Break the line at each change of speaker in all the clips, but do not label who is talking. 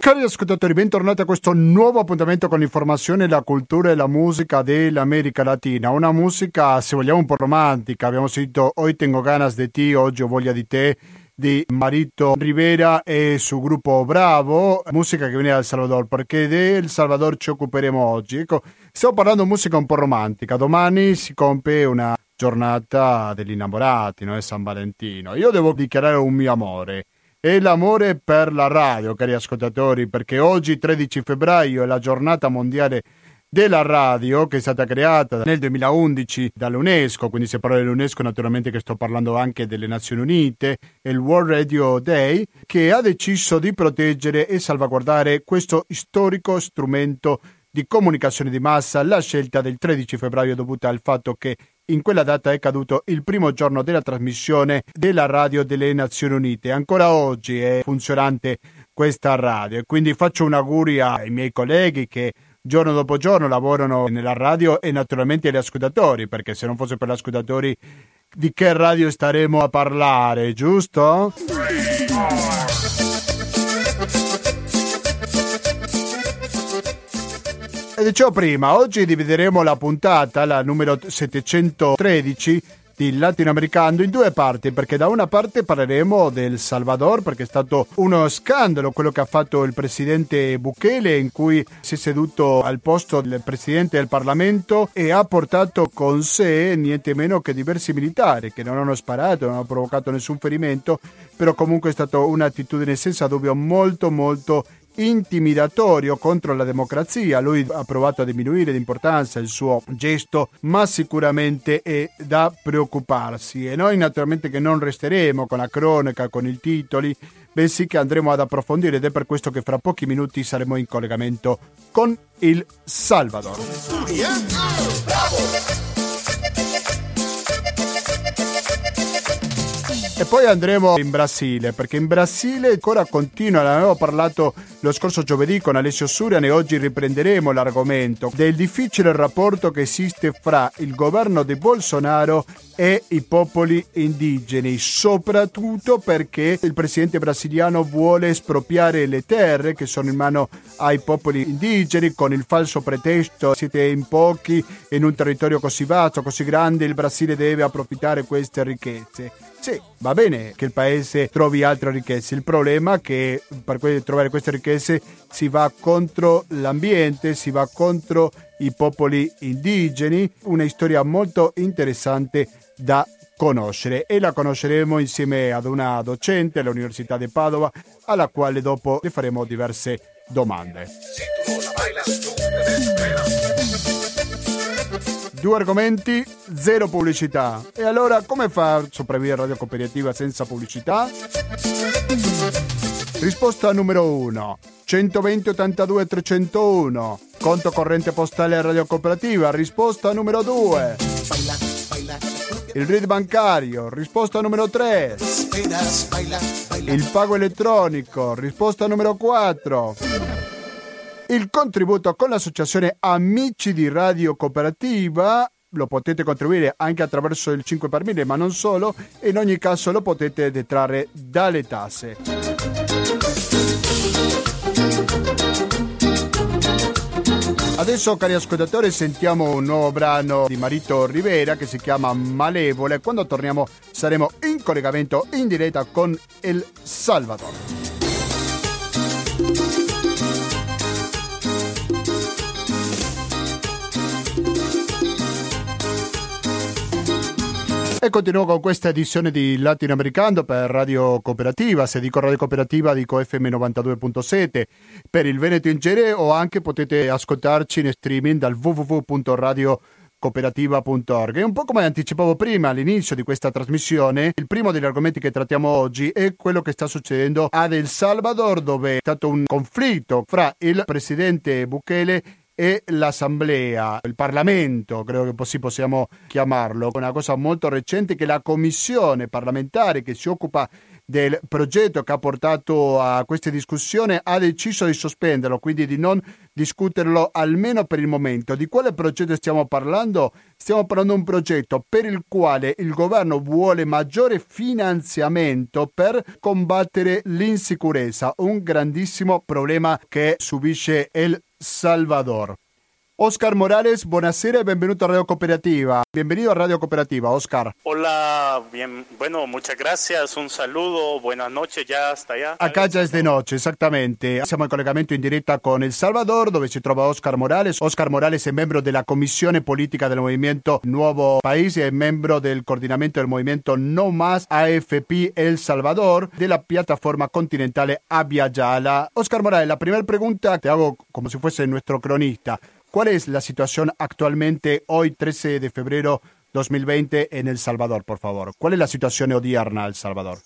Cari ascoltatori, bentornati a questo nuovo appuntamento con l'informazione, la cultura e la musica dell'America Latina. Una musica, se vogliamo, un po' romantica. Abbiamo sentito Hoy tengo ganas de ti, oggi ho voglia di te, di Marito Rivera e su gruppo Bravo, musica che viene dal Salvador, perché del Salvador ci occuperemo oggi. Ecco, stiamo parlando di musica un po' romantica. Domani si compie una giornata degli innamorati, no? È San Valentino. Io devo dichiarare un mio amore. E l'amore per la radio, cari ascoltatori, perché oggi 13 febbraio è la giornata mondiale della radio, che è stata creata nel 2011 dall'UNESCO. Quindi se parlo dell'UNESCO naturalmente che sto parlando anche delle Nazioni Unite, è il World Radio Day, che ha deciso di proteggere e salvaguardare questo storico strumento di comunicazione di massa. La scelta del 13 febbraio è dovuta al fatto che in quella data è caduto il primo giorno della trasmissione della radio delle Nazioni Unite. Ancora oggi è funzionante questa radio e quindi faccio un augurio ai miei colleghi che giorno dopo giorno lavorano nella radio e naturalmente agli ascoltatori, perché se non fosse per gli ascoltatori di che radio staremo a parlare, giusto? E dicevo prima, oggi divideremo la puntata, la numero 713 di Latinoamericano, in due parti, perché da una parte parleremo del Salvador, perché è stato uno scandalo quello che ha fatto il presidente Bukele, in cui si è seduto al posto del presidente del Parlamento e ha portato con sé niente meno che diversi militari che non hanno sparato, non hanno provocato nessun ferimento, però comunque è stata un'attitudine senza dubbio molto intimidatorio contro la democrazia. Lui ha provato a diminuire d'importanza il suo gesto, ma sicuramente è da preoccuparsi, e noi naturalmente che non resteremo con la cronaca, con i titoli, bensì che andremo ad approfondire, ed è per questo che fra pochi minuti saremo in collegamento con il Salvador. E poi andremo in Brasile, perché in Brasile ancora continua, ne avevo parlato lo scorso giovedì con Alessio Surian e oggi riprenderemo l'argomento del difficile rapporto che esiste fra il governo di Bolsonaro e i popoli indigeni, soprattutto perché il presidente brasiliano vuole espropriare le terre che sono in mano ai popoli indigeni con il falso pretesto: siete in pochi in un territorio così vasto, così grande, il Brasile deve approfittare queste ricchezze. Sì, va bene che il paese trovi altre ricchezze, il problema è che per trovare queste ricchezze si va contro l'ambiente, si va contro i popoli indigeni. Una storia molto interessante da conoscere, e la conosceremo insieme ad una docente all'Università di Padova, alla quale dopo le faremo diverse domande. Due argomenti, zero pubblicità. E allora come fa a sopravvivere Radio Cooperativa senza pubblicità? Risposta numero 1: 120 82 301, conto corrente postale Radio Cooperativa. Risposta numero 2: il RID bancario. Risposta numero 3: il pago elettronico. Risposta numero 4: il contributo con l'associazione Amici di Radio Cooperativa. Lo potete contribuire anche attraverso il 5 per 1000, ma non solo, e in ogni caso lo potete detrarre dalle tasse. Adesso, cari ascoltatori, sentiamo un nuovo brano di Marito Rivera che si chiama Malevole. Quando torniamo saremo in collegamento in diretta con El Salvador. E continuo con questa edizione di Latinoamericano per Radio Cooperativa. Se dico Radio Cooperativa dico FM 92.7 per il Veneto in genere, o anche potete ascoltarci in streaming dal www.radiocooperativa.org. E un po' come anticipavo prima all'inizio di questa trasmissione, il primo degli argomenti che trattiamo oggi è quello che sta succedendo ad El Salvador, dove è stato un conflitto fra il presidente Bukele e l'Assemblea, il Parlamento, credo che così possiamo chiamarlo, una cosa molto recente che la commissione parlamentare che si occupa del progetto che ha portato a questa discussione ha deciso di sospenderlo, quindi di non discuterlo almeno per il momento. Di quale progetto stiamo parlando? Stiamo parlando di un progetto per il quale il governo vuole maggiore finanziamento per combattere l'insicurezza, un grandissimo problema che subisce El Salvador. Oscar Morales, buonasera y bienvenido a Radio Cooperativa. Bienvenido a Radio Cooperativa, Oscar.
Hola, bien, bueno, muchas gracias, un saludo, buenas noches ya hasta allá.
Acá già è di notte, esattamente. Siamo in collegamento in diretta con El Salvador, dove si trova Oscar Morales. Oscar Morales è membro della Commissione Politica del Movimento Nuovo País e membro del coordinamento del movimento No Más AFP El Salvador, della piattaforma continentale Abya Yala. Oscar Morales, la primera pregunta te hago como si fuese nuestro cronista. ¿Cuál es la situación actualmente, hoy 13 de febrero 2020, en El Salvador, por favor? ¿Cuál es la situación odierna en El Salvador?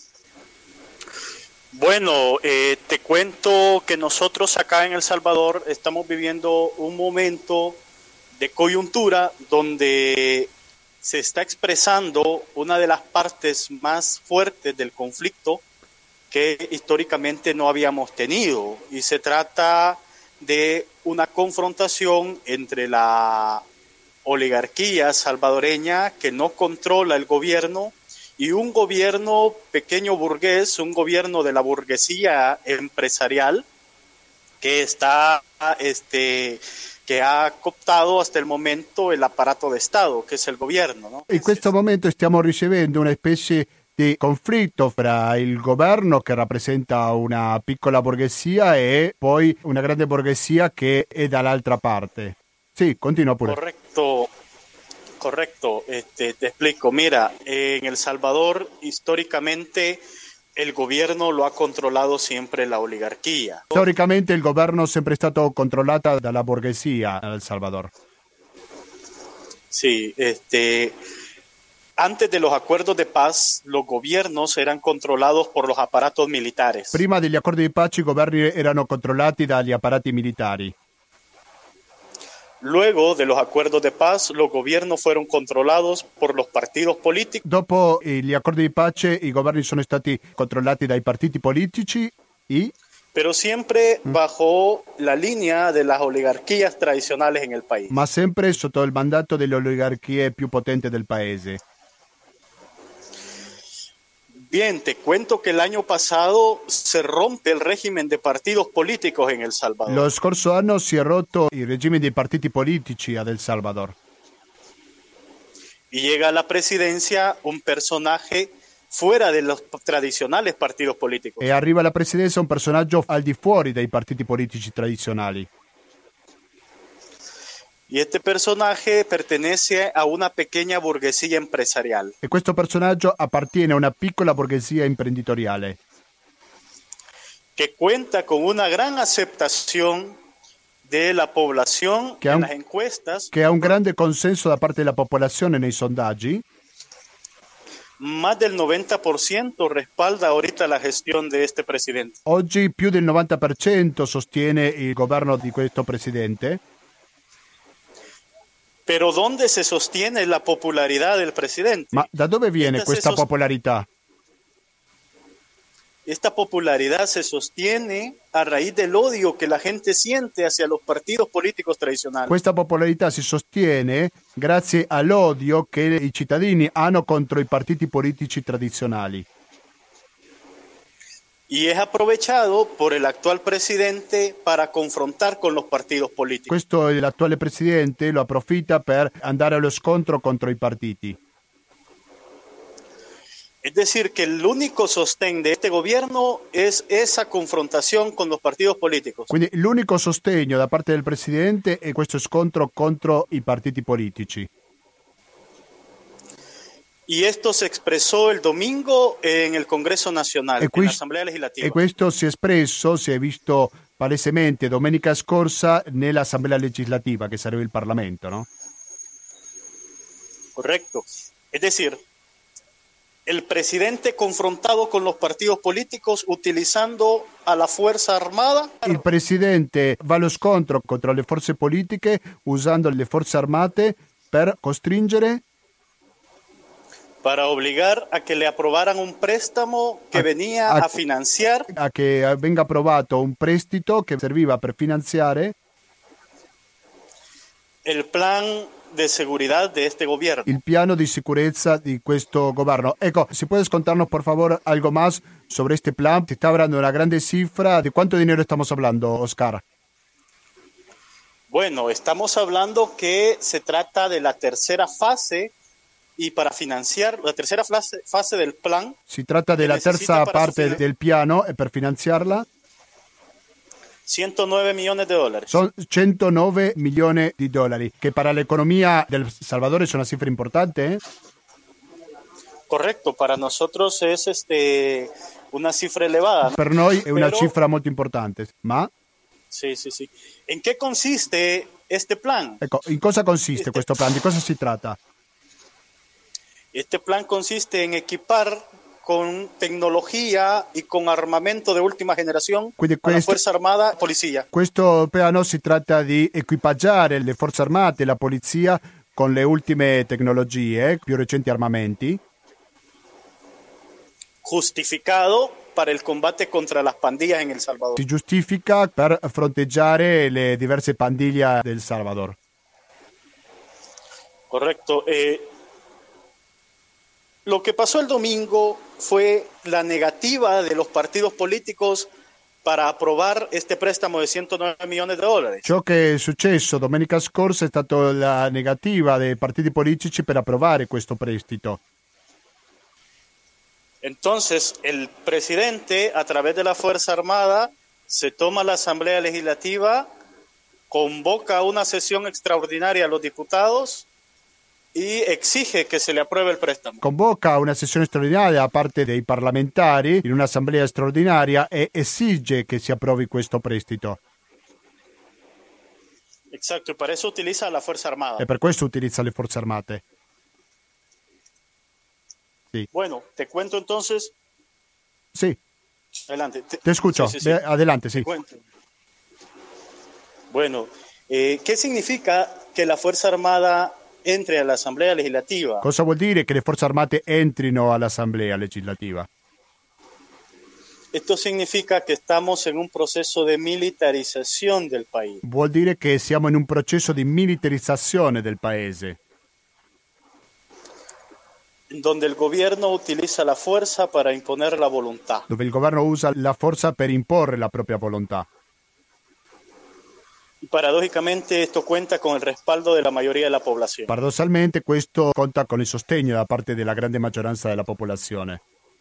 Bueno, te cuento que nosotros acá en El Salvador estamos viviendo un momento de coyuntura donde se está expresando una de las partes más fuertes del conflicto que históricamente no habíamos tenido, y se trata de una confrontación entre la oligarquía salvadoreña que no controla el gobierno y un gobierno pequeño burgués, un gobierno de la burguesía empresarial que está que ha cooptado hasta el momento el aparato de Estado, que es el gobierno, ¿no?
In questo momento stiamo ricevendo una specie di conflitto fra il governo che rappresenta una piccola borghesia e poi una grande borghesia che è dall'altra parte. Sì, continua pure.
Correcto. Te explico. Mira, en El Salvador históricamente el gobierno lo ha controlado siempre la oligarquía.
Storicamente il governo è sempre stato controllato dalla borghesia a El Salvador.
Sí, antes de los acuerdos de paz, los gobiernos eran controlados por los aparatos militares.
Prima degli accordi di pace i governi erano controllati dagli apparati militari.
Luego de los acuerdos de paz, los gobiernos fueron controlados por los partidos políticos.
Dopo gli accordi di pace i governi sono stati controllati dai partiti politici
pero siempre bajo la línea de las oligarquías tradicionales en el país.
ma sempre sotto il mandato delle oligarchie più potenti del paese.
Bien, te cuento que el año pasado se rompe el régimen de partidos políticos en El Salvador.
Lo scorso anno si è rotto il regime dei partiti politici ad El Salvador.
Y llega a la presidencia un personaje fuera de los tradicionales partidos políticos.
E arriva alla presidenza un personaggio al di fuori dai partiti politici tradizionali.
Y este personaje pertenece a una pequeña burguesía empresarial.
E questo personaggio appartiene a una piccola borghesia imprenditoriale
que cuenta con una gran aceptación de la población en las encuestas.
Che ha un grande consenso da parte della popolazione nei sondaggi.
Más del 90% respalda ahorita la gestión de este presidente.
Oggi più del 90% sostiene il governo di questo presidente.
Pero ¿dónde se sostiene la popularidad del presidente?
Ma da dove viene questa popolarità?
Esta popularidad se sostiene a raíz del odio que la gente siente hacia los partidos políticos tradicionales.
Questa popolarità si sostiene grazie all'odio che i cittadini hanno contro i partiti politici tradizionali.
Y es aprovechado por el actual presidente para confrontar con los partidos políticos.
Questo l'attuale presidente lo approfitta per andare allo scontro contro i partiti.
Es decir, que el único sostén de este gobierno es esa confrontación con los partidos políticos.
Quindi l'unico sostegno da parte del presidente è questo scontro contro i partiti politici.
Y esto se expresó el domingo en el Congreso Nacional, en la Asamblea Legislativa.
E questo si è espresso, si è visto palesemente domenica scorsa nell'Assemblea Legislativa, che sarebbe il Parlamento, no?
Correcto. Es decir, el presidente confrontado con los partidos políticos utilizando a la Fuerza Armada.
Il presidente va allo scontro contro le forze politiche usando le forze armate per costringere
Para obligar a que le aprobaran un préstamo que venía a financiar
a che venga approvato un prestito che serviva per finanziare
el plan de seguridad de este gobierno.
il piano di sicurezza di questo governo. Ecco, ¿si puedes contarnos por favor algo más sobre este plan? Se está hablando de una grande cifra. ¿De cuánto dinero estamos hablando, Oscar?
Bueno, estamos hablando que se trata de la tercera fase y para financiar la tercera fase del plan.
Si tratta della terza parte del piano e per finanziarla
109 millones de dólares.
son 109 milioni di dollari, che para l'economia del Salvador es una cifra importante, ¿eh?
Correcto, para nosotros es una cifra elevada, ¿no?
Per noi è una
Pero,
cifra molto importante. Ma,
sí. ¿En qué consiste este plan?
ecco, in cosa consiste questo plan? Di cosa si tratta?
Este plan consiste en equipar con tecnología y con armamento de última generación
Quindi
a la Fuerza Armada y Policía.
Questo piano si tratta di equipaggiare le forze armate e la polizia con le ultime tecnologie, più recenti armamenti,
Justificado para el combate contra las pandillas en El Salvador.
si giustifica per fronteggiare le diverse pandille del Salvador.
Correcto. Lo que pasó el domingo fue la negativa de los partidos políticos para aprobar este préstamo de 109 millones de dólares.
Ciò che è successo domenica scorsa è stata la negativa dei partiti politici per approvare questo prestito.
Entonces, el presidente, a través de la Fuerza Armada, se toma la Asamblea Legislativa, convoca una sesión extraordinaria a los diputados y exige que se le apruebe el préstamo.
Convoca una sessione straordinaria da parte dei parlamentari in un'assemblea straordinaria e esige che si approvi questo prestito.
Exacto, y para eso utiliza la Fuerza Armada.
E per questo utilizza le forze armate.
Bueno, te cuento entonces.
Sì,
Adelante.
te escucho.
Sí.
Adelante, sì.
Te cuento. Bueno, ¿qué significa que la Fuerza Armada entre a la Asamblea Legislativa?
Cosa vuol dire che le forze armate entrino all'assemblea legislativa?
Esto significa que estamos en un proceso de militarización del país.
Vuol dire che siamo in un processo di militarizzazione del paese,
donde el gobierno utiliza la fuerza para imponer la voluntad.
dove il governo usa la forza per imporre la propria volontà.
Y paradójicamente esto cuenta con el respaldo de la mayoría de la población.
Paradossalmente questo conta con il sostegno da parte della grande maggioranza della popolazione.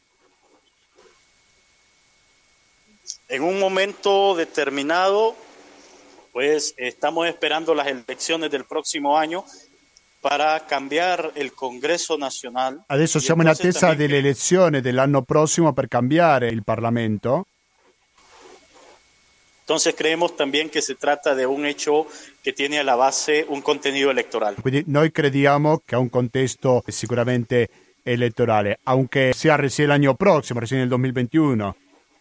En un momento determinado, pues estamos esperando las elecciones del próximo año para cambiar el Congreso Nacional.
Adesso siamo in attesa delle elezioni dell'anno prossimo per cambiare il Parlamento.
Entonces creemos también que se trata de un hecho que tiene a la base un contenido electoral.
Quindi noi crediamo che ha un contesto sicuramente elettorale, aunque sia recién el año próximo, recién el 2021.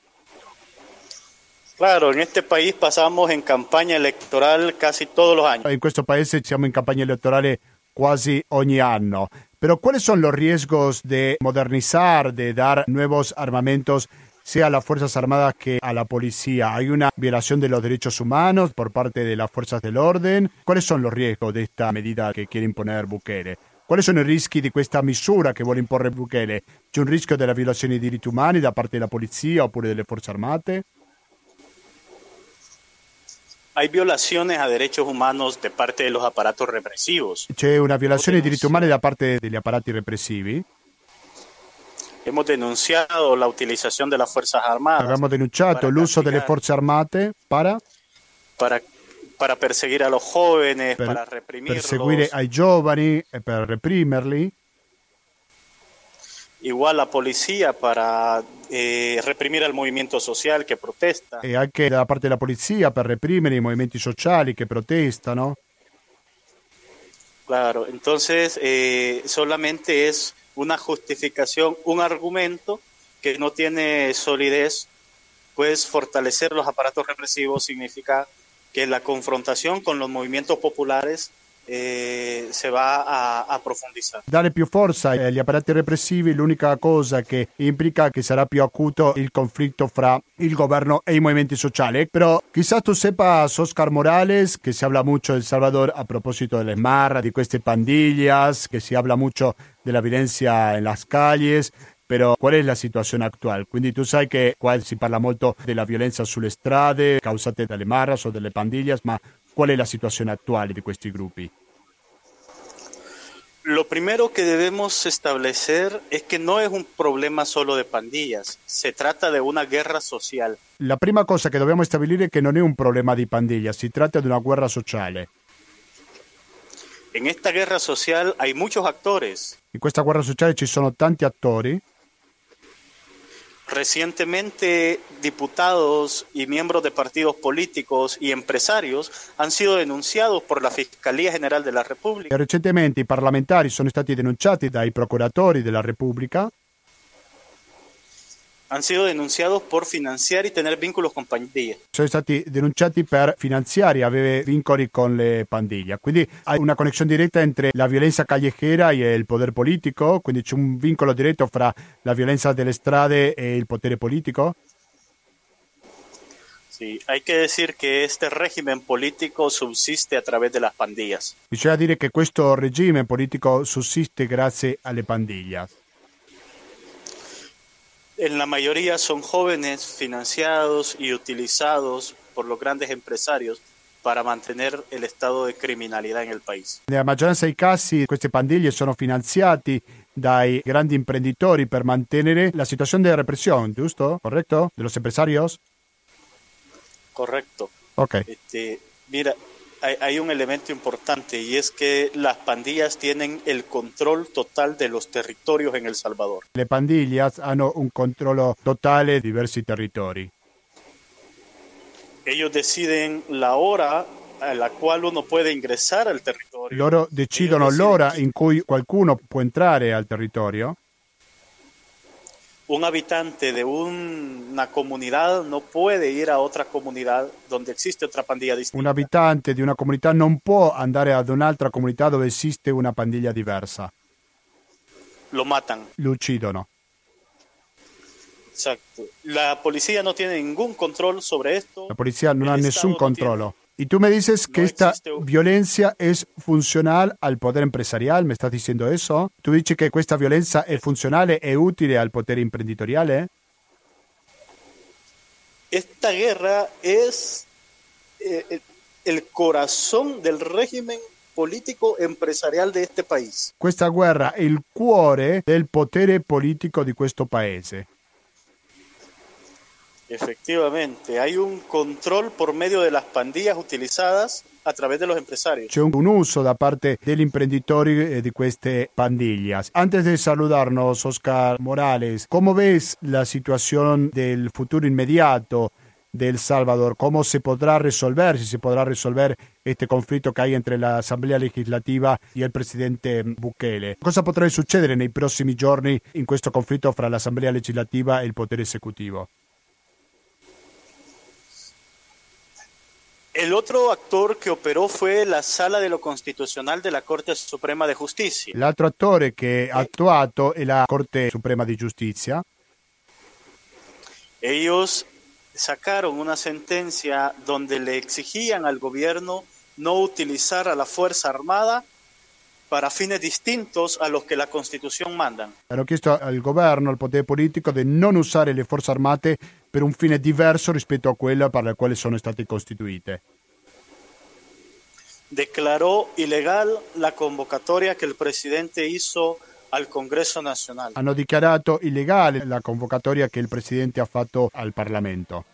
Claro, en este país pasamos en campaña electoral casi todos los años.
In questo paese siamo in campagna elettorale quasi ogni anno. Pero ¿cuáles son los riesgos de modernizar, de dar nuevos armamentos, sea a las Fuerzas Armadas que a la policía? ¿Hay una violación de los derechos humanos por parte de las fuerzas del orden? ¿Cuáles son los riesgos de esta medida che quiere imponer Bukele? Quali sono i rischi di questa misura che vuole imporre Bukele? C'è un rischio della violazione dei diritti umani da parte della polizia oppure delle forze armate?
Hay violaciones a derechos humanos de parte de los aparatos represivos.
C'è una violazione dei diritti umani da parte degli apparati repressivi?
Hemos denunciado la utilización de las Fuerzas Armadas.
Abbiamo denunciato l'uso delle forze armate para
perseguire a los jóvenes, para reprimirlos.
Perseguire ai giovani e per reprimerli.
Igual la policía para reprimir al movimiento social que protesta.
E anche da parte della polizia per reprimere i movimenti sociali che protestano.
Claro, entonces solamente es una justificación, un argumento que no tiene solidez, pues fortalecer los aparatos represivos significa que la confrontazione con los movimientos populares se va a profondizar.
Dare più forza agli apparati repressivi, l'unica cosa che implica che sarà più acuto il conflitto fra il governo e i movimenti sociali. Però quizás tú sepas, Oscar Morales, que se habla mucho de El Salvador a propósito de las marras, de queste pandillas, que se habla mucho de la violencia en las calles. Però qual è la situazione attuale? Quindi tu sai che qua si parla molto della violenza sulle strade causate dalle marras o delle pandillas, ma qual è la situazione attuale di questi gruppi?
Lo primero que debemos establecer es que no es un problema solo de pandillas, se trata de una guerra social.
La prima cosa che dobbiamo stabilire è che non è un problema di pandilla, si tratta di una guerra sociale.
En esta guerra social hay muchos actores.
In questa guerra sociale ci sono tanti attori.
Recientemente, diputados y miembros de partidos políticos y empresarios han sido denunciados por la Fiscalía General de la República.
Recentemente i parlamentari sono stati denunciati dai procuratori della Repubblica.
Han sido denunciados por financiar y tener vínculos con pandillas.
Sono stati denunciati per finanziare e avere vincoli con le pandille. Quindi hay una connessione diretta entre la violenza callejera e il potere politico, quindi c'è un vincolo diretto fra la violenza delle strade e il potere politico.
Sí, hay que decir que este régimen político subsiste a través de las pandillas.
Bisogna dire che questo regime politico sussiste grazie alle pandillas.
En la mayoría son jóvenes financiados y utilizados por los grandes empresarios para mantener el estado de criminalidad en el país.
Nella maggioranza dei casi queste pandille sono finanziati dai grandi imprenditori per mantenere la situazione di repressione, giusto? Corretto? De los empresarios?
Correcto.
Ok.
Mira, hay un elemento importante y es que las pandillas tienen el control total de los territorios en El Salvador.
Le pandillas hanno un controllo totale di diversi territori.
Ellos deciden la hora a la cual uno puede ingresar al territorio.
Loro decidono l'ora in cui qualcuno può entrare al territorio.
Un habitante de una comunidad no puede ir a otra comunidad donde existe otra pandilla distinta.
Un abitante di una comunità non può andare ad un'altra comunità dove esiste una pandilla diversa.
Lo matan.
Lo uccidono.
Exacto. La policía no tiene ningún control sobre esto.
La policía non ha nessun
Estado
controllo. Y tú me dices que
No
esta
existe
violencia es funcional al poder empresarial, ¿me estás diciendo eso? ¿Tú dices que questa violenza è funzionale e utile al potere imprenditoriale?
Esta guerra es el corazón del régimen político empresarial de este país.
Questa guerra è il cuore del potere politico di questo paese.
Efectivamente, hay un control por medio de las pandillas utilizadas a través de los empresarios.
C'è un uso da parte degli imprenditori di queste pandillas. Antes de saludarnos, Oscar Morales, ¿cómo ves la situación del futuro inmediato de El Salvador? ¿Cómo se podrá resolver, si se podrá resolver este conflitto che hay entre la Asamblea Legislativa e il presidente Bukele? Cosa potrà succedere nei prossimi giorni in questo conflitto fra l'Assemblea Legislativa e il potere esecutivo?
El otro actor que operó fue la Sala de lo Constitucional de la Corte Suprema de Justicia.
L'altro attore che ha attuato è la Corte Suprema di Giustizia.
Ellos sacaron una sentencia donde le exigían al gobierno no utilizar a la Fuerza Armada para fines distintos a los que la Constitución manda.
Hanno chiesto al governo, al potere politico, di non usare le forze armate per un fine diverso rispetto a quello per il quale sono state costituite.
Declaró ilegal la convocatoria que el presidente hizo al Congreso Nacional.
Hanno dichiarato illegale la convocatoria che il presidente ha fatto al Parlamento.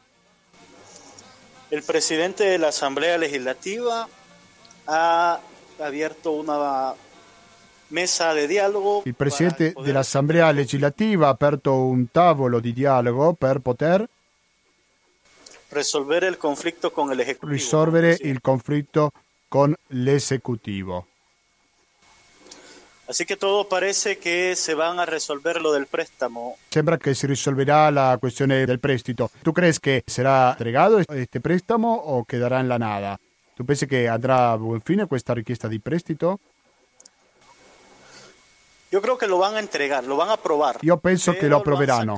El presidente de la Asamblea Legislativa ha abierto una mesa de dialogo.
Il presidente dell'Assemblea Legislativa ha aperto un tavolo di dialogo per poter
risolvere il conflitto con l'esecutivo.
Risolvere il conflitto con l'esecutivo.
Así que todo parece que se van a resolver lo del préstamo.
Sembra che si risolverà la questione del prestito. Tu crees che sarà entregato este préstamo o quedará en la nada? Tu pensi che andrà a buon fine questa richiesta di prestito?
Yo creo que lo van a entregar, lo van a aprobar.
Io penso che lo approveranno.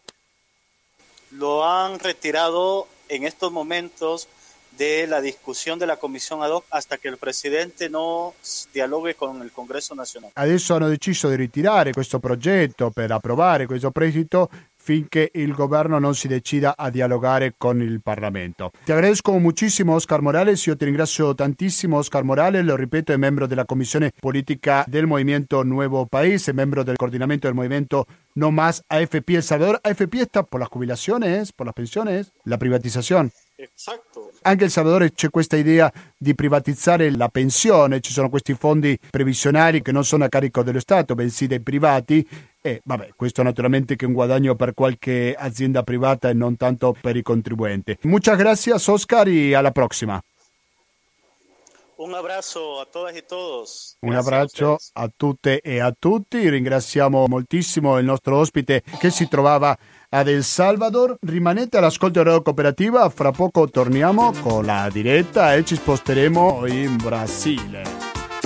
Lo han retirado en estos momentos de la discusión de la comisión ad hoc hasta que el presidente no dialogue con il Congresso nazionale.
Adesso hanno deciso di ritirare questo progetto per approvare questo prestito finché il governo non si decida a dialogare con il Parlamento. Ti agradezco muchísimo, Oscar Morales. Io ti ringrazio tantissimo, Oscar Morales. Lo ripeto, è membro della Commissione Politica del Movimiento Nuevo País, è membro del coordinamento del movimiento No Más AFP El Salvador. AFP está por las jubilaciones, por las pensiones, la privatización.
Esatto.
Anche in Salvador c'è questa idea di privatizzare la pensione, ci sono questi fondi previsionali che non sono a carico dello Stato, bensì dei privati. E vabbè, questo naturalmente che è un guadagno per qualche azienda privata e non tanto per i contribuenti. Muchas gracias, Oscar, y a la próxima.
Un abbraccio a todas y todos.
Un abbraccio a tutte e a tutti. Ringraziamo moltissimo il nostro ospite che si trovava ad El Salvador. Rimanete all'ascolto di Radio Cooperativa, fra poco torniamo con la diretta e ci sposteremo in Brasile.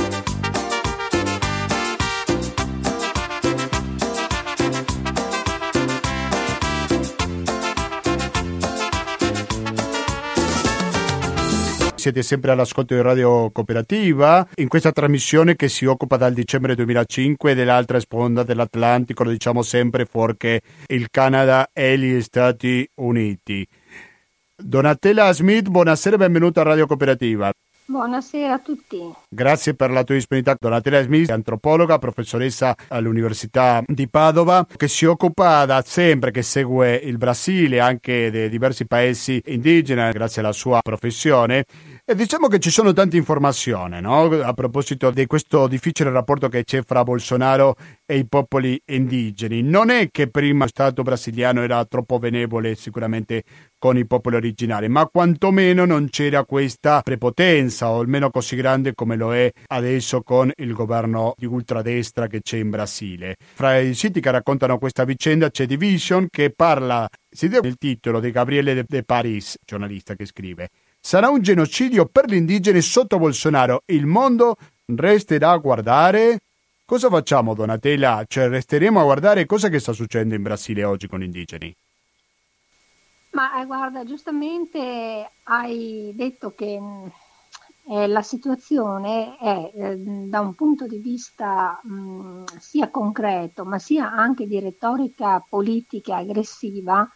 Siete sempre all'ascolto di Radio Cooperativa, in questa trasmissione che si occupa dal dicembre 2005 dell'altra sponda dell'Atlantico, lo diciamo sempre, fuorché il Canada e gli Stati Uniti. Donatella Smith, buonasera e benvenuta a Radio Cooperativa.
Buonasera a tutti.
Grazie per la tua disponibilità. Donatella Smith, antropologa, professoressa all'Università di Padova, che si occupa da sempre, che segue il Brasile, anche di diversi paesi indigeni, grazie alla sua professione. E diciamo che ci sono tante informazioni, no? A proposito di questo difficile rapporto che c'è fra Bolsonaro e i popoli indigeni. Non è che prima lo Stato brasiliano era troppo benevole sicuramente con i popoli originari, ma quantomeno non c'era questa prepotenza, o almeno così grande come lo è adesso con il governo di ultradestra che c'è in Brasile. Fra i siti che raccontano questa vicenda c'è Division, che parla, si vede il titolo di Gabriele de Paris, giornalista che scrive: sarà un genocidio per gli indigeni sotto Bolsonaro, il mondo resterà a guardare. Cosa facciamo, Donatella? Cioè, resteremo a guardare cosa che sta succedendo in Brasile oggi con gli indigeni?
Ma guarda, giustamente hai detto che la situazione è da un punto di vista sia concreto, ma sia anche di retorica politica aggressiva,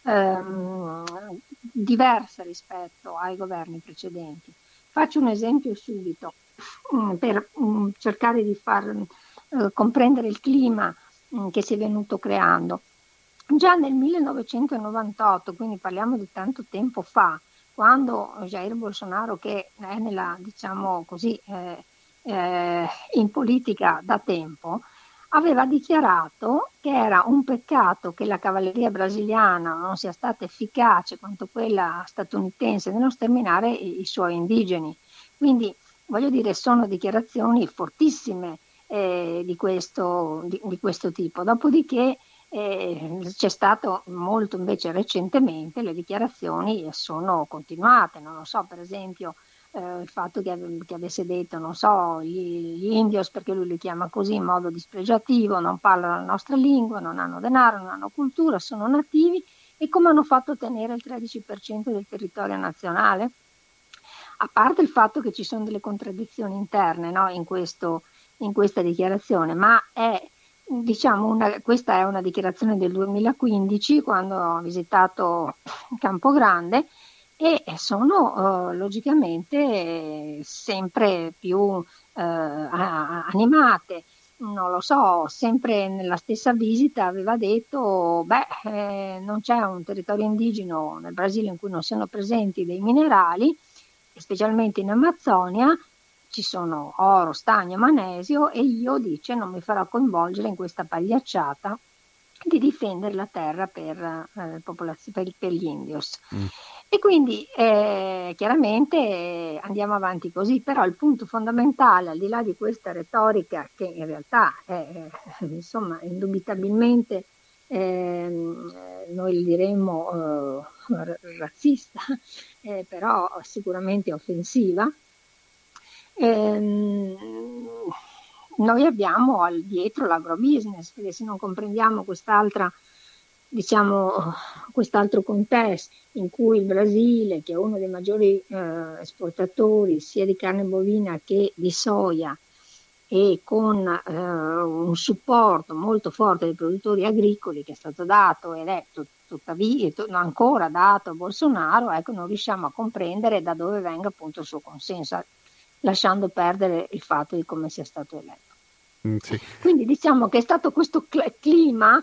diversa rispetto ai governi precedenti. Faccio un esempio subito per cercare di far comprendere il clima che si è venuto creando. Già nel 1998, quindi parliamo di tanto tempo fa, quando Jair Bolsonaro, che è nella, diciamo così, in politica da tempo, aveva dichiarato che era un peccato che la cavalleria brasiliana non sia stata efficace quanto quella statunitense nello sterminare i suoi indigeni. Quindi, voglio dire, sono dichiarazioni fortissime di questo tipo. Dopodiché c'è stato molto invece recentemente, le dichiarazioni sono continuate, non lo so, per esempio il fatto che avesse detto, non so, gli indios, perché lui li chiama così in modo dispregiativo, non parlano la nostra lingua, non hanno denaro, non hanno cultura, sono nativi, e come hanno fatto a ottenere il 13% del territorio nazionale? A parte il fatto che ci sono delle contraddizioni interne, no, in questa dichiarazione, ma è, diciamo, questa è una dichiarazione del 2015, quando ho visitato Campo Grande, e sono logicamente sempre più animate. Non lo so, sempre nella stessa visita aveva detto non c'è un territorio indigeno nel Brasile in cui non siano presenti dei minerali, specialmente in Amazzonia ci sono oro, stagno, magnesio, e io, dice, non mi farò coinvolgere in questa pagliacciata di difendere la terra per gli indios. E quindi chiaramente andiamo avanti così, però il punto fondamentale, al di là di questa retorica che in realtà è insomma indubitabilmente noi diremmo razzista, però sicuramente offensiva, noi abbiamo dietro l'agrobusiness, perché se non comprendiamo quest'altro contesto in cui il Brasile, che è uno dei maggiori esportatori sia di carne bovina che di soia, e con un supporto molto forte dei produttori agricoli che è stato dato ed è tuttavia ancora dato a Bolsonaro, ecco, non riusciamo a comprendere da dove venga appunto il suo consenso, lasciando perdere il fatto di come sia stato eletto.
Sì.
Quindi diciamo che è stato questo clima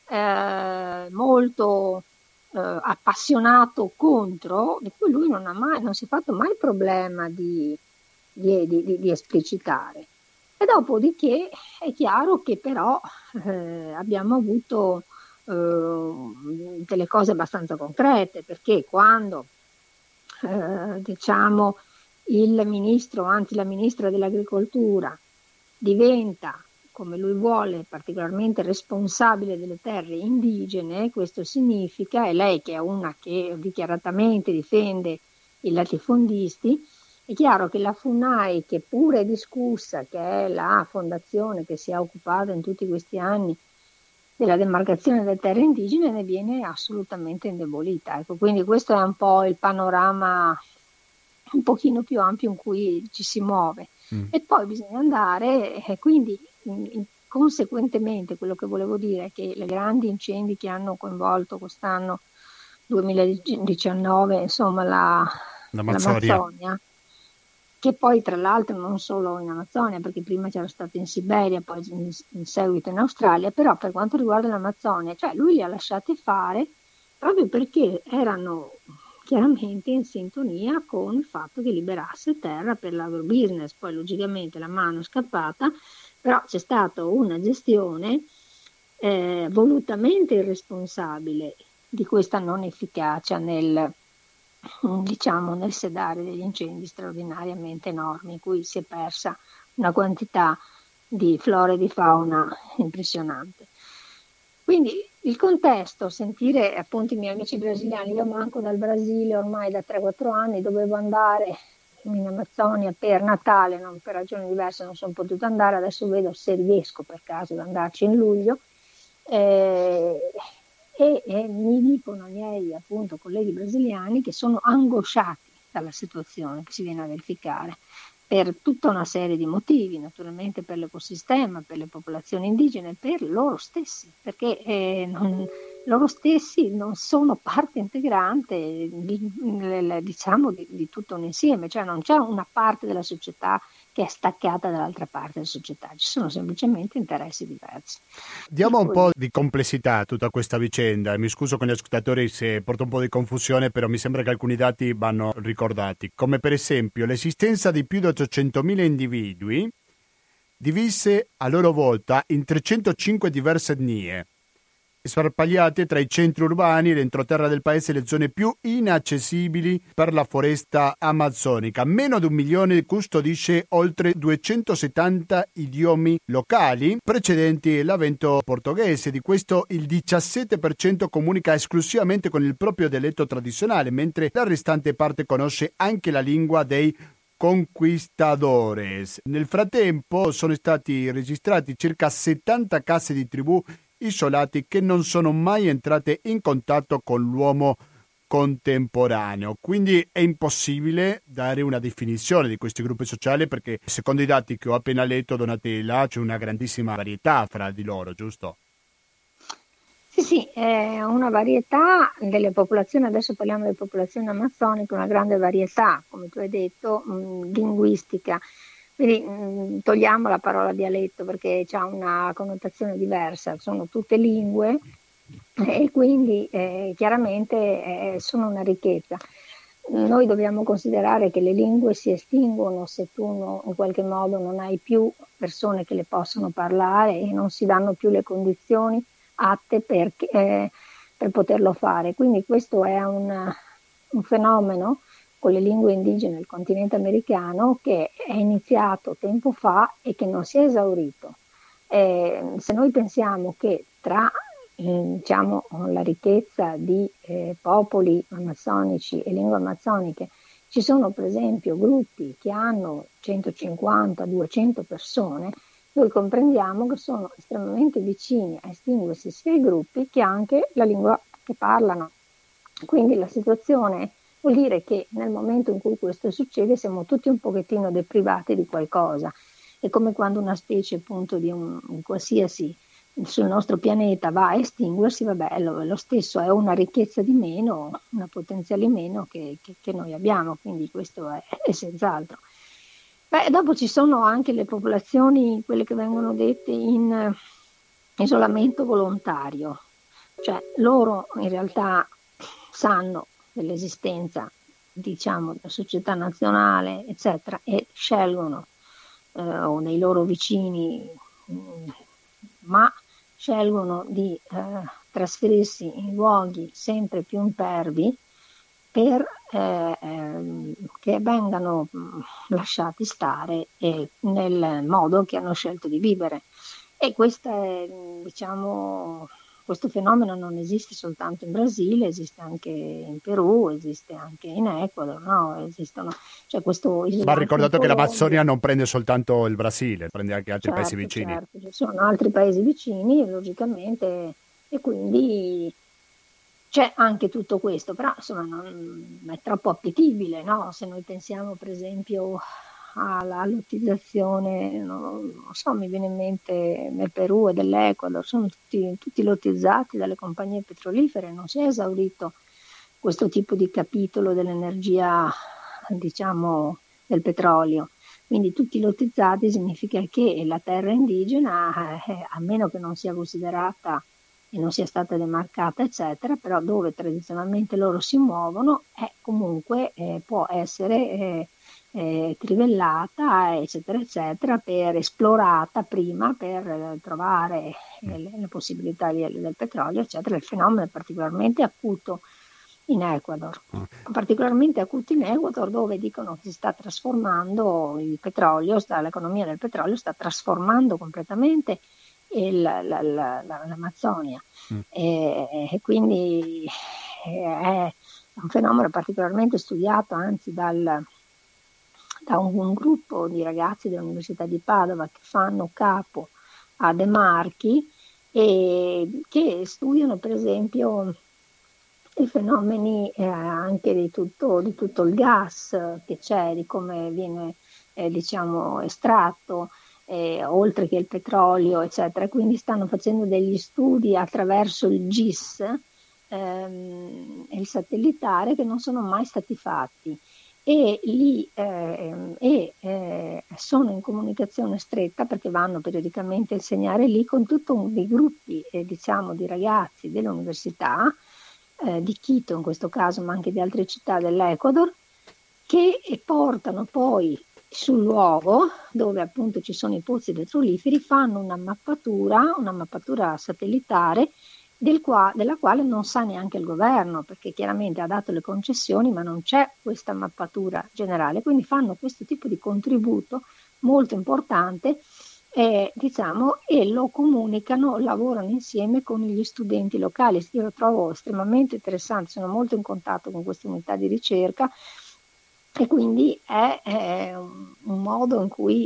molto appassionato contro, di cui lui non si è fatto mai problema di esplicitare. E dopodiché è chiaro che però abbiamo avuto delle cose abbastanza concrete, perché quando diciamo il ministro, anzi la ministra dell'agricoltura, diventa, come lui vuole, particolarmente responsabile delle terre indigene, questo significa, e lei che è una che dichiaratamente difende i latifondisti, è chiaro che la FUNAI, che pure è discussa, che è la fondazione che si è occupata in tutti questi anni della demarcazione delle terre indigene, ne viene assolutamente indebolita. Ecco, quindi questo è un po' il panorama un pochino più ampio in cui ci si muove. E poi bisogna andare, quindi conseguentemente quello che volevo dire è che i grandi incendi che hanno coinvolto quest'anno 2019, insomma l'Amazzonia, che poi tra l'altro non solo in Amazzonia, perché prima c'era stato in Siberia, poi in seguito in Australia, però per quanto riguarda l'Amazzonia, cioè lui li ha lasciati fare proprio perché erano chiaramente in sintonia con il fatto che liberasse terra per l'agrobusiness. Poi logicamente la mano è scappata, però c'è stata una gestione volutamente irresponsabile di questa non efficacia nel sedare degli incendi straordinariamente enormi, in cui si è persa una quantità di flora e di fauna impressionante. Quindi il contesto, sentire appunto i miei amici brasiliani, io manco dal Brasile ormai da 3-4 anni, dovevo andare in Amazzonia per Natale, non, per ragioni diverse non sono potuta andare, adesso vedo se riesco per caso ad andarci in luglio, e mi dicono i miei appunto colleghi brasiliani che sono angosciati dalla situazione che si viene a verificare, per tutta una serie di motivi, naturalmente per l'ecosistema, per le popolazioni indigene, per loro stessi, perché loro stessi non sono parte integrante di tutto un insieme, cioè non c'è una parte della società che è staccata dall'altra parte della società, ci sono semplicemente interessi diversi.
Diamo un po' di complessità a tutta questa vicenda, mi scuso con gli ascoltatori se porto un po' di confusione, però mi sembra che alcuni dati vanno ricordati, come per esempio l'esistenza di più di 800.000 individui divise a loro volta in 305 diverse etnie, sparpagliate tra i centri urbani, l'entroterra del paese e le zone più inaccessibili per la foresta amazzonica. Meno di 1 milione custodisce oltre 270 idiomi locali precedenti l'avvento portoghese. Di questo il 17% comunica esclusivamente con il proprio dialetto tradizionale, mentre la restante parte conosce anche la lingua dei conquistadores. Nel frattempo sono stati registrati circa 70 case di tribù isolati che non sono mai entrate in contatto con l'uomo contemporaneo. Quindi è impossibile dare una definizione di questi gruppi sociali, perché secondo i dati che ho appena letto, Donatella, c'è una grandissima varietà fra di loro, giusto?
Sì, è una varietà delle popolazioni, adesso parliamo delle popolazioni amazzoniche, una grande varietà, come tu hai detto, linguistica. Quindi togliamo la parola dialetto perché ha una connotazione diversa, sono tutte lingue e quindi chiaramente sono una ricchezza. Noi dobbiamo considerare che le lingue si estinguono se tu in qualche modo non hai più persone che le possono parlare e non si danno più le condizioni atte per poterlo fare. Quindi questo è un fenomeno con le lingue indigene del continente americano che è iniziato tempo fa e che non si è esaurito. Se noi pensiamo che tra diciamo, la ricchezza di popoli amazzonici e lingue amazzoniche ci sono per esempio gruppi che hanno 150-200 persone, noi comprendiamo che sono estremamente vicini a estinguersi sia i gruppi che anche la lingua che parlano. Quindi la situazione vuol dire che nel momento in cui questo succede siamo tutti un pochettino deprivati di qualcosa. È come quando una specie appunto di qualsiasi sul nostro pianeta va a estinguersi, vabbè, lo stesso è una ricchezza di meno, una potenziale meno che noi abbiamo, quindi questo è senz'altro. Beh, dopo ci sono anche le popolazioni, quelle che vengono dette in isolamento volontario, cioè loro in realtà sanno dell'esistenza, diciamo, della società nazionale, eccetera, e scelgono o dei loro vicini, ma scelgono di trasferirsi in luoghi sempre più impervi per che vengano lasciati stare nel modo che hanno scelto di vivere. E questo fenomeno non esiste soltanto in Brasile, esiste anche in Perù, esiste anche in Ecuador, no? Cioè questo
va ricordato che l'Amazzonia non prende soltanto il Brasile, prende anche altri paesi vicini.
Certo, ci sono altri paesi vicini, logicamente, e quindi c'è anche tutto questo, però insomma non è troppo appetibili, no? Se noi pensiamo per esempio alla lottizzazione, non so, mi viene in mente nel Perù e dell'Ecuador, sono tutti lottizzati dalle compagnie petrolifere, non si è esaurito questo tipo di capitolo dell'energia, diciamo, del petrolio. Quindi tutti lottizzati significa che la terra indigena, a meno che non sia considerata e non sia stata demarcata, eccetera, però dove tradizionalmente loro si muovono, comunque può essere trivellata, eccetera, eccetera, esplorata prima per trovare le possibilità del petrolio, eccetera. Il fenomeno è particolarmente acuto in Ecuador, particolarmente acuto in Ecuador, dove dicono che si sta trasformando il petrolio, l'economia del petrolio sta trasformando completamente l'Amazzonia, e quindi è un fenomeno particolarmente studiato, anzi da un gruppo di ragazzi dell'Università di Padova che fanno capo a De Marchi e che studiano per esempio i fenomeni anche di tutto il gas che c'è, di come viene diciamo estratto, oltre che il petrolio, eccetera. Quindi stanno facendo degli studi attraverso il GIS e il satellitare che non sono mai stati fatti, e lì sono in comunicazione stretta perché vanno periodicamente a insegnare lì con tutto dei gruppi diciamo di ragazzi dell'università di Quito in questo caso, ma anche di altre città dell'Ecuador, che portano poi sul luogo dove appunto ci sono i pozzi petroliferi, fanno una mappatura satellitare della quale non sa neanche il governo, perché chiaramente ha dato le concessioni ma non c'è questa mappatura generale, quindi fanno questo tipo di contributo molto importante diciamo, e lo comunicano, lavorano insieme con gli studenti locali. Io lo trovo estremamente interessante, sono molto in contatto con questa unità di ricerca e quindi è un modo in cui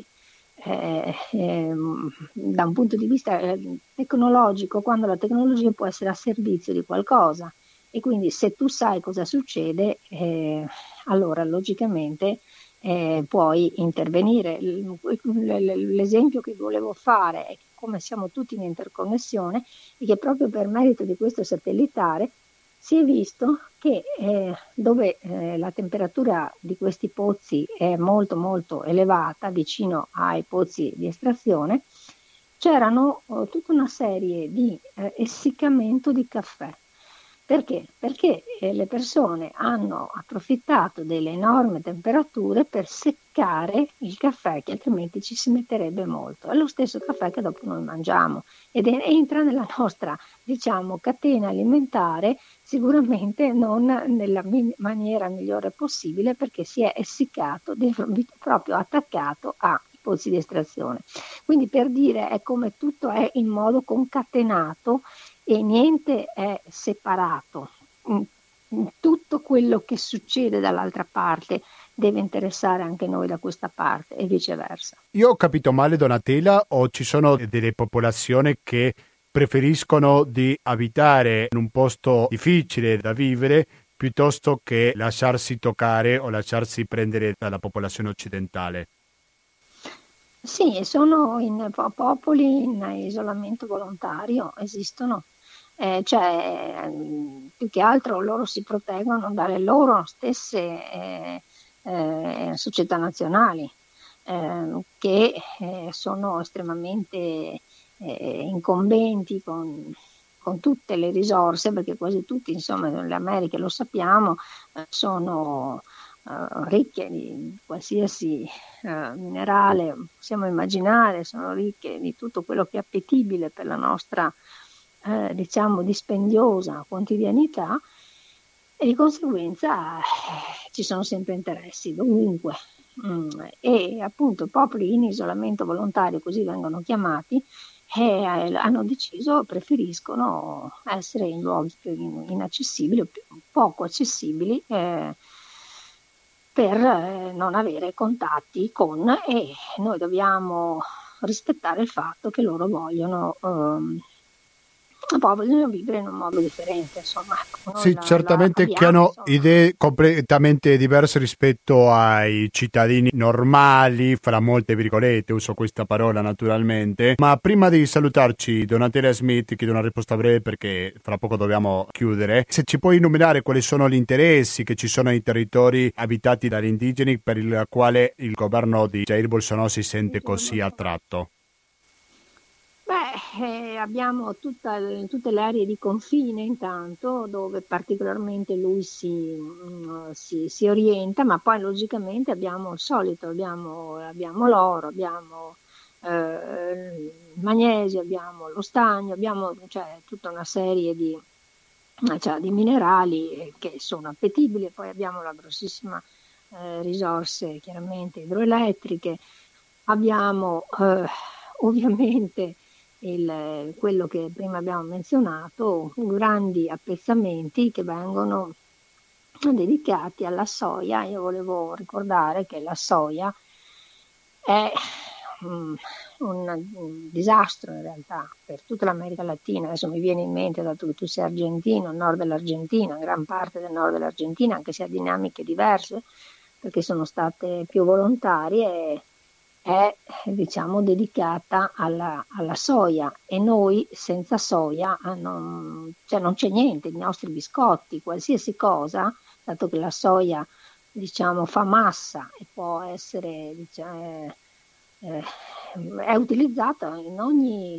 da un punto di vista tecnologico, quando la tecnologia può essere a servizio di qualcosa, e quindi se tu sai cosa succede, allora logicamente puoi intervenire. L'esempio che volevo fare è che come siamo tutti in interconnessione e che proprio per merito di questo satellitare si è visto che dove la temperatura di questi pozzi è molto molto elevata, vicino ai pozzi di estrazione, c'erano tutta una serie di essiccamento di caffè. Perché? Perché le persone hanno approfittato delle enormi temperature per seccare il caffè, che altrimenti ci si metterebbe molto. È lo stesso caffè che dopo noi mangiamo ed entra nella nostra, diciamo, catena alimentare, sicuramente non nella maniera migliore possibile, perché si è essiccato, proprio attaccato ai pozzi di estrazione. Quindi, per dire, è come tutto è in modo concatenato e niente è separato. Tutto quello che succede dall'altra parte deve interessare anche noi da questa parte e viceversa.
Io ho capito male, Donatella, o ci sono delle popolazioni che preferiscono di abitare in un posto difficile da vivere piuttosto che lasciarsi toccare o lasciarsi prendere dalla popolazione occidentale?
Sì, sono in popoli in isolamento volontario, esistono. Più che altro loro si proteggono dalle loro stesse società nazionali, che sono estremamente incombenti con tutte le risorse, perché quasi tutti, insomma, le Americhe, lo sappiamo, sono ricche di qualsiasi minerale possiamo immaginare, sono ricche di tutto quello che è appetibile per la nostra diciamo dispendiosa quotidianità, e di conseguenza ci sono sempre interessi dovunque. E appunto popoli in isolamento volontario, così vengono chiamati, hanno deciso, preferiscono essere in luoghi più inaccessibili o poco accessibili, per non avere contatti con, e noi dobbiamo rispettare il fatto che loro vogliono vivere in un modo differente, insomma.
Sì, certamente che hanno idee completamente diverse rispetto ai cittadini normali, fra molte virgolette, uso questa parola naturalmente. Ma prima di salutarci, Donatella Smith, chiedo una risposta breve perché fra poco dobbiamo chiudere. Se ci puoi enumerare quali sono gli interessi che ci sono ai territori abitati dagli indigeni per il quale il governo di Jair Bolsonaro si sente così attratto?
Abbiamo tutte le aree di confine, intanto, dove particolarmente lui si orienta, ma poi logicamente abbiamo il solito, abbiamo l'oro, abbiamo il magnesio, abbiamo lo stagno, abbiamo tutta una serie di minerali che sono appetibili, poi abbiamo la grossissima risorse chiaramente idroelettriche, abbiamo ovviamente quello che prima abbiamo menzionato, grandi appezzamenti che vengono dedicati alla soia. Io volevo ricordare che la soia è un disastro in realtà per tutta l'America Latina. Adesso mi viene in mente, dato che tu sei argentino, il nord dell'Argentina, gran parte del nord dell'Argentina, anche se ha dinamiche diverse, perché sono state più volontarie, è diciamo dedicata alla soia, e noi senza soia non c'è niente. I nostri biscotti, qualsiasi cosa, dato che la soia diciamo fa massa e può essere è utilizzata in ogni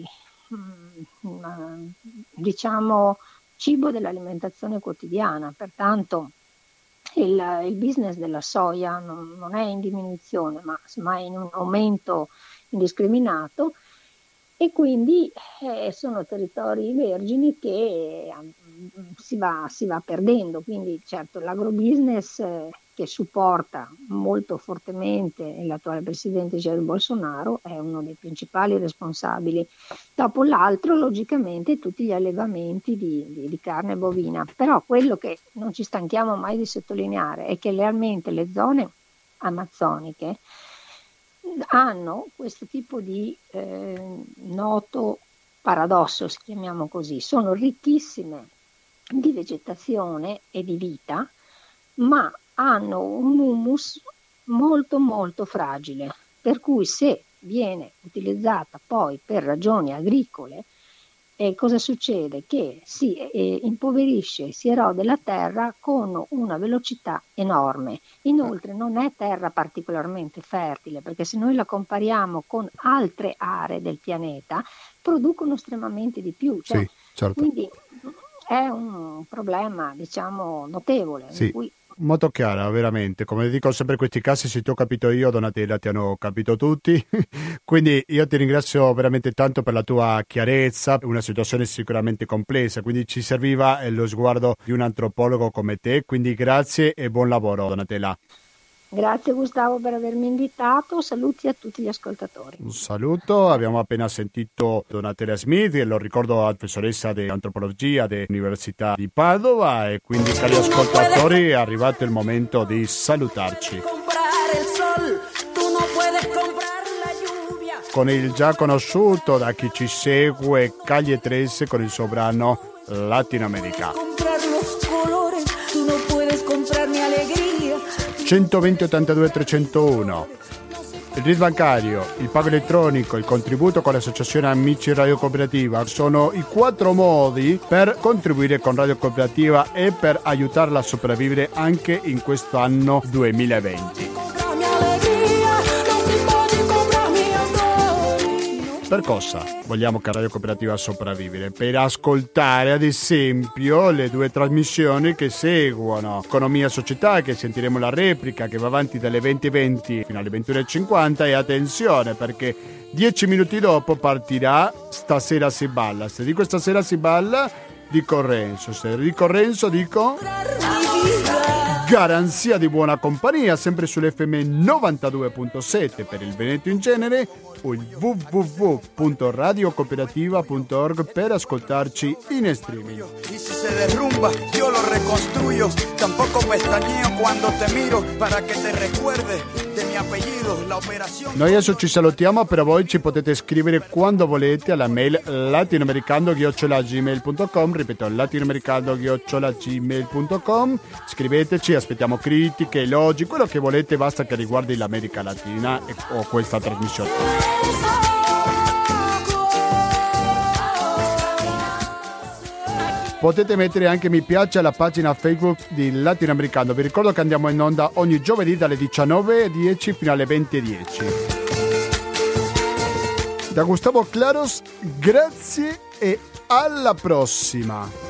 diciamo cibo dell'alimentazione quotidiana, pertanto il business della soia non è in diminuzione, ma è in un aumento indiscriminato, e quindi sono territori vergini che si va perdendo. Quindi certo l'agrobusiness che supporta molto fortemente l'attuale presidente Jair Bolsonaro è uno dei principali responsabili. Dopo l'altro, logicamente, tutti gli allevamenti di carne bovina. Però quello che non ci stanchiamo mai di sottolineare è che realmente le zone amazzoniche hanno questo tipo di noto paradosso, se chiamiamo così. Sono ricchissime di vegetazione e di vita, ma hanno un humus molto molto fragile, per cui se viene utilizzata poi per ragioni agricole, cosa succede? Che si impoverisce, si erode la terra con una velocità enorme. Inoltre non è terra particolarmente fertile, perché se noi la compariamo con altre aree del pianeta, producono estremamente di più.
Sì, certo.
Quindi è un problema, diciamo, notevole.
Sì.
In cui...
Molto chiara, veramente. Come dico sempre in questi casi, se ti ho capito io, Donatella, ti hanno capito tutti. Quindi io ti ringrazio veramente tanto per la tua chiarezza, una situazione sicuramente complessa, quindi ci serviva lo sguardo di un antropologo come te, quindi grazie e buon lavoro, Donatella.
Grazie Gustavo per avermi invitato, saluti a tutti gli ascoltatori.
Un saluto, abbiamo appena sentito Donatella Smith, che lo ricordo professoressa di antropologia dell'Università di Padova, e quindi cari ascoltatori è arrivato il momento di salutarci. Con il già conosciuto da chi ci segue Calle 13 con il suo brano Latinoamerica. 120 82 301. Il RID bancario, il pago elettronico, il contributo con l'associazione Amici Radio Cooperativa sono i 4 modi per contribuire con Radio Cooperativa e per aiutarla a sopravvivere anche in questo anno 2020. Per cosa vogliamo che Radio Cooperativa sopravvivere? Per ascoltare ad esempio le 2 trasmissioni che seguono Economia e Società, che sentiremo la replica, che va avanti dalle 20:20 fino alle 21:50, e attenzione perché 10 minuti dopo partirà Stasera si balla. Se dico Stasera si balla dico Renzo, se dico Renzo dico Garanzia di buona compagnia, sempre sull'FM 92.7 per il Veneto in genere, o il www.radiocooperativa.org per ascoltarci in streaming.
Y si se derrumba, yo lo reconstruyo. Tampoco pestañeo cuando te miro para que te recuerde de mi apellido, la operación.
Noi adesso ci salutiamo, però voi ci potete scrivere quando volete alla mail latinoamericando@gmail.com, ripeto latinoamericando@gmail.com. Scriveteci, aspettiamo critiche, elogi, quello che volete, basta che riguardi l'America Latina o questa trasmissione. Potete mettere anche mi piace alla pagina Facebook di Latinoamericano. Vi ricordo che andiamo in onda ogni giovedì dalle 19:10 fino alle 20:10. Da Gustavo Claros, grazie e alla prossima.